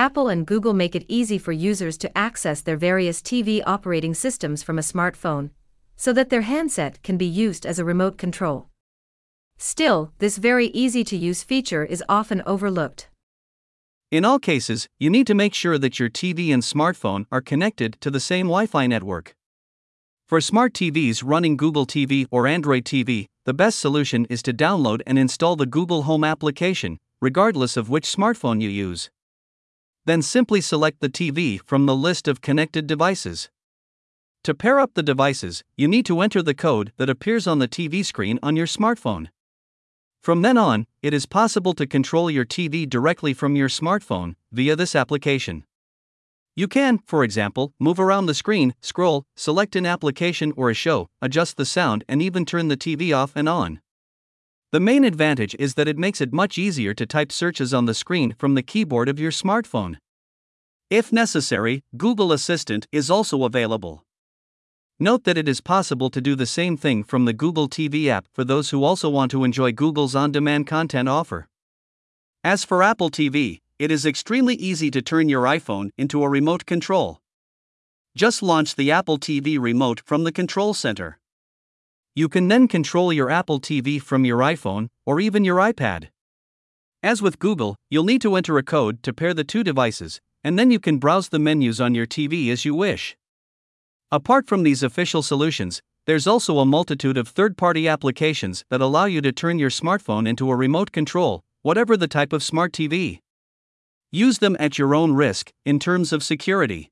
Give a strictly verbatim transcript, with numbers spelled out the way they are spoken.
Apple and Google make it easy for users to access their various T V operating systems from a smartphone, so that their handset can be used as a remote control. Still, this very easy-to-use feature is often overlooked. In all cases, you need to make sure that your T V and smartphone are connected to the same Wi-Fi network. For smart T Vs running Google T V or Android T V, the best solution is to download and install the Google Home application, regardless of which smartphone you use. Then simply select the T V from the list of connected devices. To pair up the devices, you need to enter the code that appears on the T V screen on your smartphone. From then on, it is possible to control your T V directly from your smartphone via this application. You can, for example, move around the screen, scroll, select an application or a show, adjust the sound, and even turn the T V off and on. The main advantage is that it makes it much easier to type searches on the screen from the keyboard of your smartphone. If necessary, Google Assistant is also available. Note that it is possible to do the same thing from the Google T V app for those who also want to enjoy Google's on-demand content offer. As for Apple T V, it is extremely easy to turn your iPhone into a remote control. Just launch the Apple T V remote from the control center. You can then control your Apple T V from your iPhone or even your iPad. As with Google, you'll need to enter a code to pair the two devices, and then you can browse the menus on your T V as you wish. Apart from these official solutions, there's also a multitude of third-party applications that allow you to turn your smartphone into a remote control, whatever the type of smart T V. Use them at your own risk, in terms of security.